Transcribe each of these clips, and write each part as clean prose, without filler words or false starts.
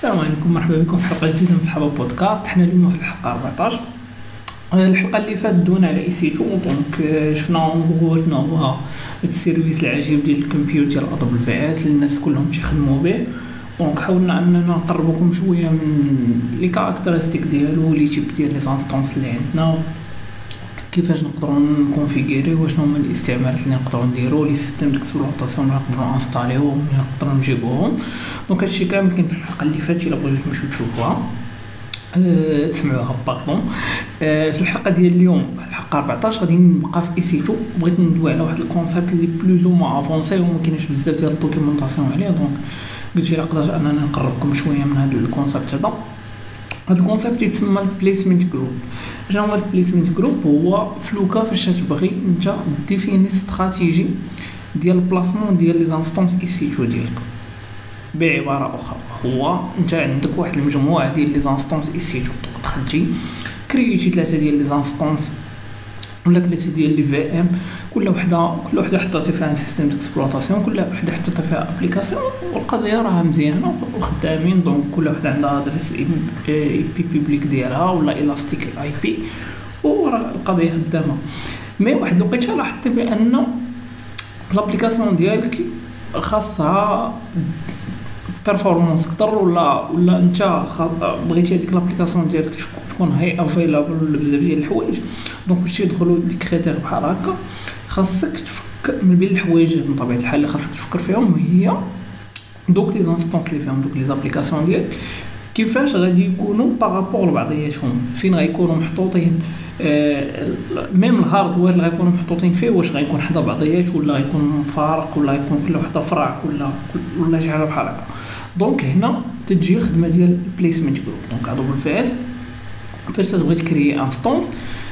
السلام عليكم، مرحبا بكم في حلقه جديده من صحابه بودكاست. حنا اليوم في الحلقه 14. الحلقه اللي فاتت دونا على اي سي 2 دونك شفنا غوتنا هو هذا السيرفيس العجيب ديال الكمبيوتر ديال ادوبل في اس اللي الناس كلهم تيخدموا به. دونك حاولنا اننا نقربكم شويه من لي كاركتيرستيك ديالو، لي تيب ديال لي انستانس اللي عندنا، كيفاش نقدروا نكونفيغيريو، وشنو هما الاستعمالات اللي نقدروا نديروا، لي سيستم ديكسبلوطاسيون اللي نقدروا انستاليوهم، اللي نقدروا نجيبوهم. دونك هادشي كامل كاين في الحلقه اللي فاتت، الا بغيتو تمشيو تشوفوها تسمعوها باردون. في الحلقه ديال اليوم الحلقه 14 غادي نبقى في اي سي 2. بغيت ندوي على واحد الكونسيبت اللي بلوز او ما افونسي وما كاينش بزاف ديال الدوكيومونطاسيون عليه. دونك قلت الا قدرت اننا نقربكم شويه من هذا الكونسيبت هذا. هذا الكونسيبت يتسمى البليسمنت جروب. شنو هو البليسمنت جروب؟ هو فلوكا فاش تبغي انت ديفيني استراتيجي ديال البلاسمون ديال لي انستانس اي سي 2 ديالك. بعباره اخرى هو انت عندك واحد المجموعه ديال لي انستانس اي سي 2، دخلتي كرييتي 3 ديال لي انستانس ولا 3 ديال لي في ام، كل وحده حطيتي فيها سيستم ديكسبلوطاسيون، كل وحده حطيتي فيها ابليكاسيون، والقضيه راها مزيانه وخدامين. دونك كل وحده عندها ادريس اي بي بيبليك ديالها ولا الاستيك اي بي، وراه القضيه خدامه. مي واحد الوقيته لاحظتي بان الابليكاسيون ديالك خاصها بيرفورمانس اكثر، ولا انت بغيتي هذيك لابليكاسيون ديالك تكون هاي افيلابل بزاف ديال الحوايج. دونك باش يدخلوا ديك كريتير بحال هكا خاصك تفكر من بين الحوايج من طبيعه الحال اللي خاصك تفكر فيهم هي دوك لي انستانس اللي فيهم دوك لي زابليكاسيون ديالك كيفاش غادي يكونوا بارابور لبعضياتهم، فين غيكونوا محطوطين، ميم الهاردوير اللي غيكونوا محطوطين فيه واش غيكون حدا بعضيات ولا غيكون مفارق ولا غيكون كل وحده فرع ولا شي حاجه بحال هكا. دونك هنا تجي الخدمه ديال البليسمنت جروب. دونك ادوبل في اس فاش تبغي تكري انستانس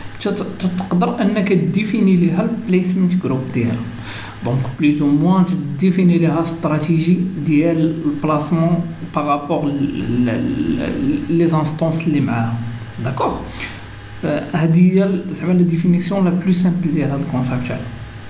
تقدر انك ديفيني ليها البليسمنت جروب ديالها. دونك بليز او موان تديفيني ليها استراتيجي ديال البلاسمون بارابور لي انستانس اللي معاها. داكوغ، هذه هي زعما لا ديفينيسيون لا بلو سامبل ديال هذا الكونسيبت هذا.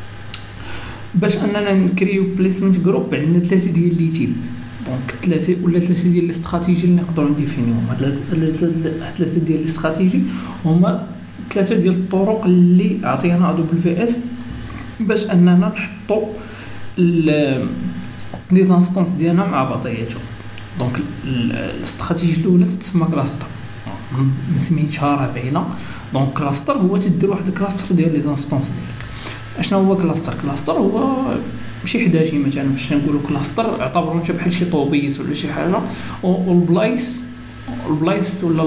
باش اننا نكريو بليسمنت جروب عندنا 3 ديال لي تيب، دونك 3 ديال الاستراتيجي اللي نقدروا نديفينيوهم. هاد 3 ديال الاستراتيجي هما 3 ديال الطرق اللي عطينا ادوبل في اس باش اننا نحطوا لي انستانس ديالنا مع بعضياتهم. دونك الاستراتيجي الاولى تسمى كلاستر، سميتها راه باينه. دونك كلاستر هو تدير واحد الكلاستر ديال لي انستانس ديالك. اشنو هو كلاستر؟ كلاستر هو شي حداشي مثلا، باش نقولوا كلاستر اعتبروا انت بحال شي طوبيس ولا شي حاجه، والبلايص ولا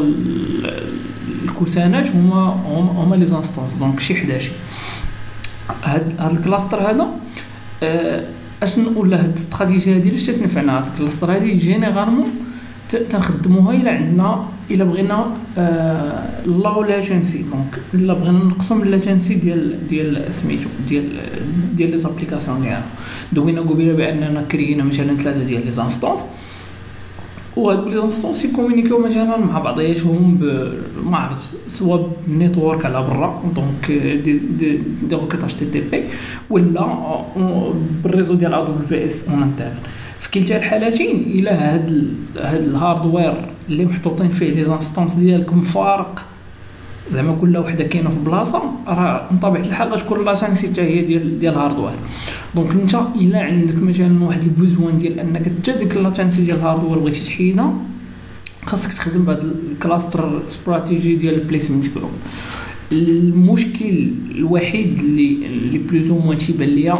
الكوسانات هما لي انستانس. دونك شي حداشي. هاد الكلاستر هذا اشنو ولا هاد الاستراتيجيه هذه علاش تنفعنا؟ هاد الكلاستر هذه جينيرالمون تنخدموها الا بغينا لو لاتنسي. دونك الا بغينا نقصوا من اللاتنسي ديال سميتو ديال لي زابليكاسيون ديالنا. دوينا قبيله باننا كرينا مثلا 3 ديال لي انستانس، وهاد لي انستانس يكومونيكيو مثلا مع بعضياتهم ما عرفت سواء بالنيتورك على برا، دونك دي روكيت اتش تي تي بي، ولا بالريزو ديال ادوبل في اس اون انترن. في كلتا الحالتين الى هاد الهاردوير اللي محطوطين فيه لي انستانس ديالك مفارق، زعما كل وحده كاينه في بلاصه، راه من طبيعه الحال غتكون لاتنسي حتى هي ديال الهاردوير. دونك انت الا عندك مثلا واحد البوزوان ديال انك حتى ديك اللاتنسي ديال الهاردوير بغيتي تحيدها، خاصك تخدم بهذا الكلاستر استراتيجي ديال البليسمنت جروب. المشكل الوحيد اللي بلوز او موان تيبان ليا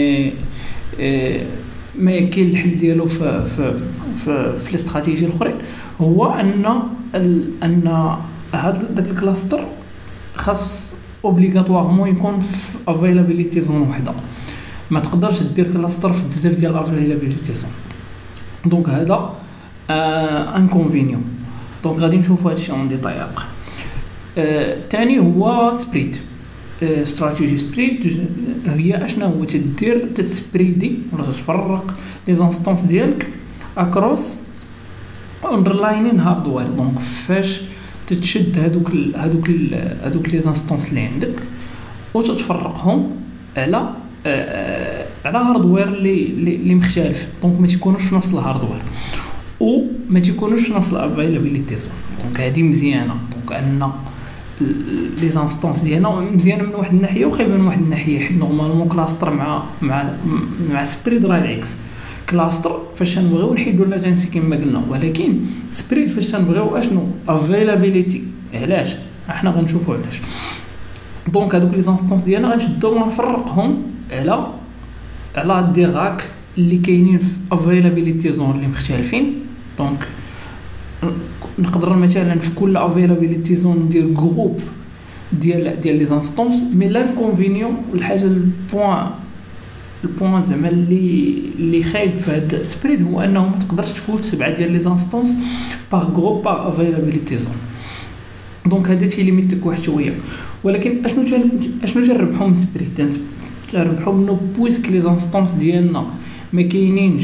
ما كاين الحل ديالو في الاستراتيجي الاخرين، هو ان هذا داك الكلاستر خاص اوبليغاتوارمون يكون في افيلابيليتي زون وحده. ما تقدرش دير كلاستر في بزاف ديال الافيلابيليتي زون. دونك هذا انكونفينيون. دونك غادي نشوفوا هادشي اون ديتاي ابخي. ثاني هو سبريد. استراتيجي سبريد هي اشنا هو تسبريدي ولا تفرق لي انستانس ديالك اكروس اندرلاينين هاردوير. دونك فاش تتشد هادوك لي انستانس اللي عندك وتتفرقهم على هاردوير اللي مختلف، دونك ما تيكونوش في نفس الهاردوير. ما تيكونوش في نفس الافيلابيليتي زون. دونك هذه مزيانه، دونك ان لي زانستونس ديالنا مزيانه من واحد الناحيه وخايبه من واحد الناحيه، حيت نورمالمون كلاستر مع سبريد راه العكس. كلاستر فاش تنبغيو نحيدو لاتنسي كما قلنا، ولكن سبريد فاش تنبغيو اشنو افيلابيليتي. علاش؟ احنا غنشوفوا علاش. دونك هذوك لي زانستونس ديالنا غنشدو ونفرقهم على دي راك اللي كاينين في افيلابيليتي زون اللي مختلفين. دونك نقدر مثلا في كل افيلابيليتي زون ندير جروب ديال لي زانستونس، مي لانكونفينيون والحاجه البوان زعما اللي خايب في هذا السبريد هو انه ما تقدرش تفوت 7 ديال لي زانستونس باغ جروب باغ افيلابيليتي زون. دونك هذا تيليميتك واحد شويه. ولكن اشنو تنربحو من سبريد؟ تنربحو منه بويسك لي زانستونس ديالنا ما كاينينش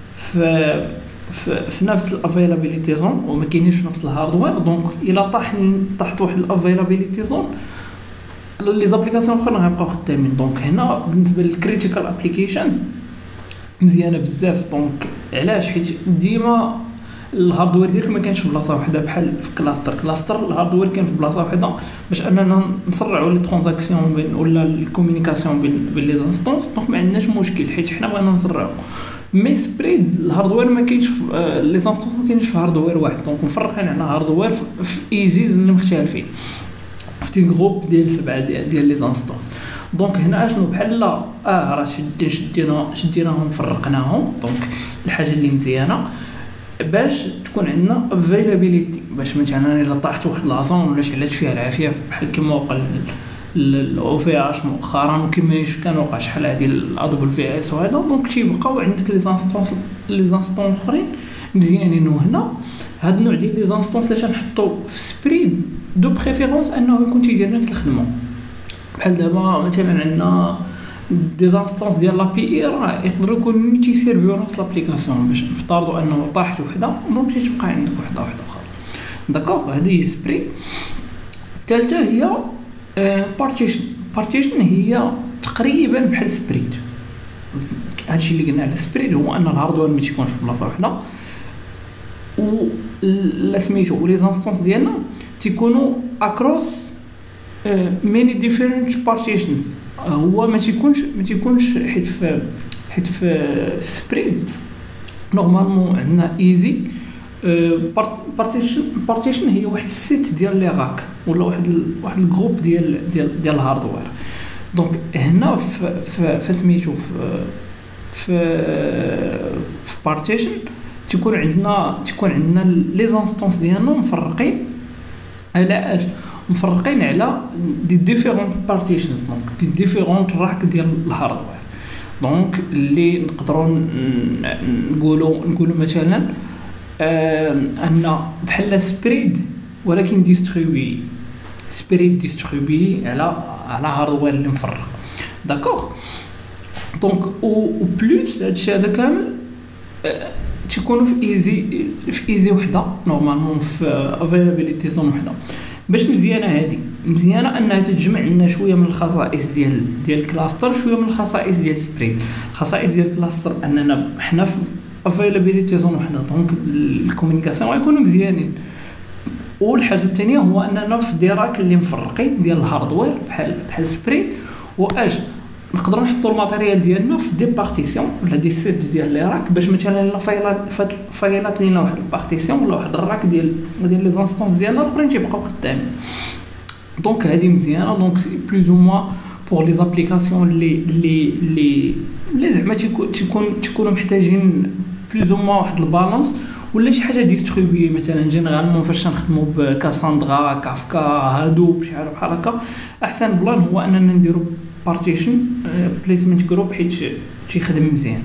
في نفس الافيلابيليتي زون وما كاينينش في نفس الهاردوير. دونك الا طاحت واحد الافيلابيليتي زون لي زابليكاسيون اخرين غيبقاو خدامين. دونك هنا بالنسبه للكريتيكال ابليكيشنز مزيانه بزاف. دونك علاش؟ حيت ديما الهاردوير ديالك ما كانش في بلاصه واحده بحال في كلاستر الهاردوير كان في بلاصه واحده باش اننا نسرعوا لي ترانزاكسيون بين ولا الكومونيكاسيون بين لي زانستونس. دونك ما عندناش مشكل حيت حنا بغينا نسرعوا. مي سبريد الهاردوير ما كاينش لي زانستونس ما كاينش في هاردوير واحد. دونك مفرقين على هاردوير في ايزيز اللي مختلفين في جروب ديال 7 ديال لي زانستونس. دونك هنا اشنو بحال راه شديناهم فرقناهم. دونك الحاجه اللي مزيانه باش تكون عندنا افيلابيليتي، باش مثلا الا طاحت واحد لاصون ولا شعلات فيها العافيه بحال كما وقع الاو في اش مؤخرا وكما كان وقع شحال هادي الادوبل في اس وهذا. دونك تيبقاو عندك لي زانستونس اخرين مزيانين. وهنا هاد النوع ديال لي زانستونس اللي تنحطو في سبريد دو بريفيرونس انه يكون تيدير نفس الخدمه. بحال دابا مثلا عندنا دي زانستونس ديال لابي اي راه يقدروا يكونوا تيسيرفيو نفس لابليكاسيون. باش نفترضوا انه طاحت وحده دونك تيبقى عندك وحده اخرى. داكوغ هذه هي سبريد. الثالثه هي بارتيشن هي تقريبا بحال سبريد. هادشي اللي قلنا على سبريد هو ان الهاردوير ما تيكونش في بلاصه وحده و سميتو ولي زانستونس ديالنا تيكونوا اكروس ماني ديفيرنت بارتيشنز. هو ما تيكونش حيت في سبريد نورمالمون عندنا ايزي بارتيشن هي واحد السيت ديال لي راك ولا واحد الجروب ديال الهاردوير. دونك هنا في سميتو في بارتيشن تكون عندنا لي زانستونس ديالنا مفرقين على اش؟ مفرقين على دي ديفيرونت بارتيشنز. دونك دي ديفيرونت راك ديال الهاردوير. دونك اللي نقدروا نقولوا مثلا ان بحال سبريد ولكن ديستريبي على هاردوير اللي مفرق. داكوغ. دونك او بلس هادشي هذا كامل تيكونوا في ايزي وحده نورمالمون في افيلابيليتي زون وحده. باش مزيانه انها تجمع لنا شويه من الخصائص ديال الكلاستر شويه من الخصائص ديال سبريد. الخصائص ديال الكلاستر اننا حنا في افيلابيليتي زون وحده دونك الكومونيكاسيون غيكونوا مزيانين. والحاجه الثانيه هو اننا في ديراك اللي مفرقين ديال الهاردوير بحال سبريد واش نقدروا نحطوا الماتيريال ديالنا في دي بارتيسيون ولا دي سيت ديال لي راك باش مثلا الا فايلات لينا واحد البارتيسيون ولا واحد الراك ديال لي زانستونس ديالنا الاخرين تيبقاو خدامين. دونك هذه مزيانه. دونك سي بلوز او موان بور لي زابليكاسيون اللي زعما تيكونوا محتاجين بلوز او موان واحد البالانس ولا شي حاجه ديستريبيي. مثلا جينيرالمون فاش نخدموا بكاساندرا كافكا هادوب شي حاجه بحال هكا احسن بلان هو اننا نديروا بارتيشن بليسمنت جروب حيت تيخدم مزيان.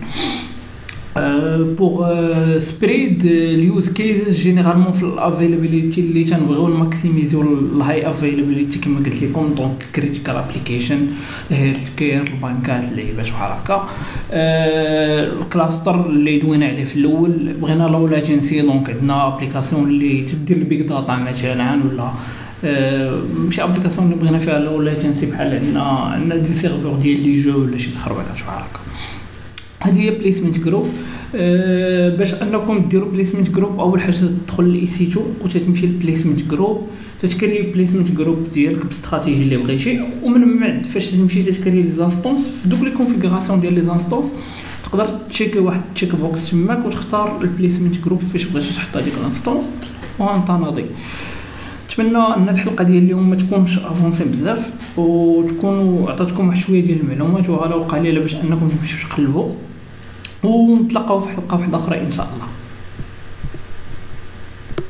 بوغ سبريد اليوز كيس جينيرالمون في الافيلابيليتي اللي تنبغيو نماكسيميزيو الهاي افيلابيليتي كما قلت لكم. دونك كريتيكال ابليكيشن هيلث كير البنكات اللعيبات بحال هكا. الكلاستر اللي دوينا عليه في الاول بغينا لو لاتنسي. دونك عندنا ابليكاسيون اللي تدير البيك داتا مثلا ولا ماشي ابليكاسيون اللي بغينا فيها لو لاتنسي بحال عندنا دي سيرفور ديال لي جو ولا شي تخربيقات بحال هكا. هذه هي بليسمنت جروب. باش انكم ديروا بليسمنت جروب، اول حاجه تدخل لاي سي 2 وتتمشي للبليسمنت جروب، تتكري بليسمنت جروب ديالك باستراتيجي اللي بغيتي، ومن بعد فاش تمشي تكري لي زانستونس في دوك لي كونفيغوراسيون ديال لي زانستونس تقدر تشيك واحد تشيك بوكس تماك وتختار البليسمنت جروب فاش بغيتي تحط هذيك الانستونس وانت ناضي. نتمنى ان الحلقه ديال اليوم ما تكونش افونسي بزاف وتكونوا عطاتكم واحد شويه ديال المعلومات وغاله قليله باش انكم تمشيو تقلبوا، ونتلاقاو في حلقه واحده اخرى ان شاء الله.